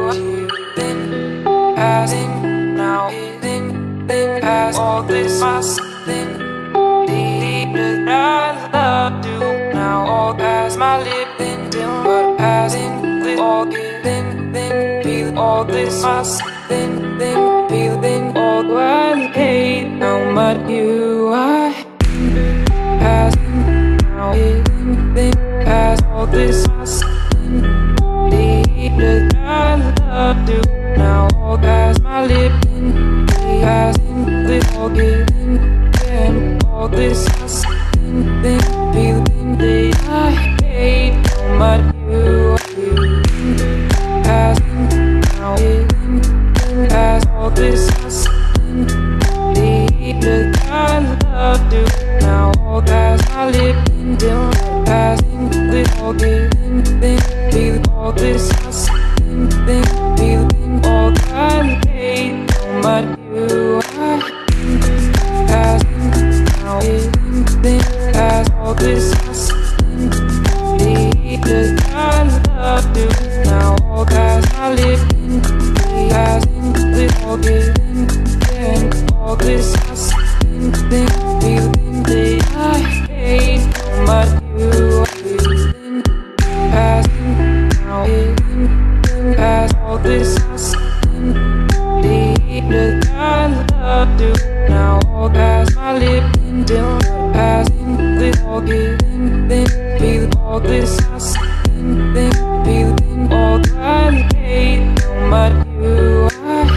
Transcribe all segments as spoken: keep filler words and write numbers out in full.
you then passing now then then pass all this fuss then deep that I love you now all past my lip then till but passing with all you then then feel all this fuss then then feel then all what hate how much you are passing now then then pass all this fuss that I love you now all past my lip then passing with all giving then all this fuss then feeling that I hate how much you are passing now then past all this fuss that I love you now all past my lip then passing with all giving then feel all this fuss then feeling all that I hate how much you are passing now then past all this fuss that I love you now all past my lip passing with all giving then all this fuss then feeling that I hate how much you are passing now then past all this fuss that I love you now all past my lip then passing with all giving then feel all this fuss then feeling all that I hate how much you are.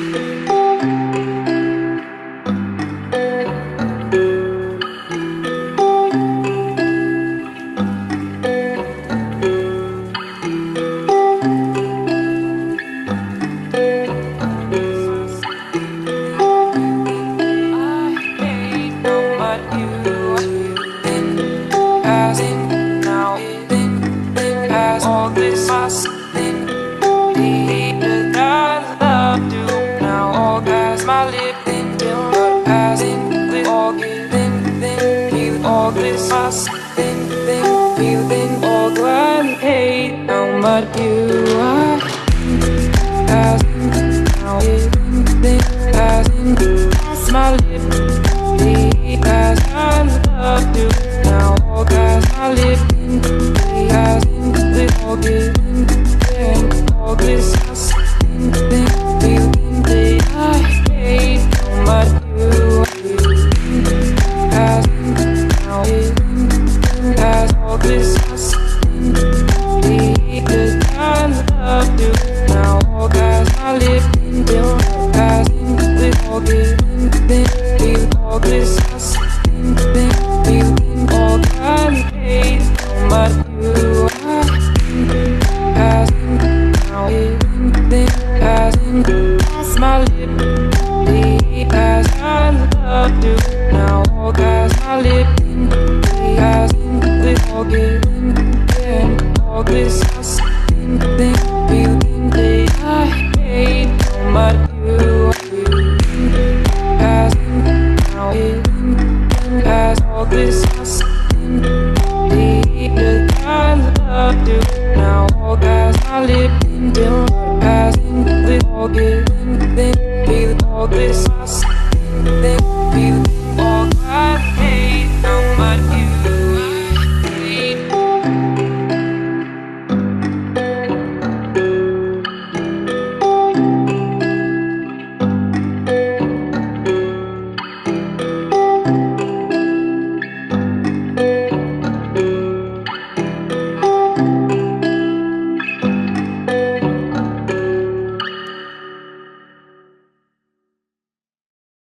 Then, then, feel then all that I hate how much you are passing now then passing past my lip past I love you now all past my lip passing with all giving then all this fuss then feeling that I hate how much you are passing now past all this fuss that I love you now all past my lip then passing with all giving then feel all this fuss then feeling all that I hate how much you are passing now then passing past my lip past I love you now all past my lip passing with all giving then all this fuss then feeling that I hate how much you are passing now then past all this fuss that I love you now all past my lip then passing with all giving then feel all this fuss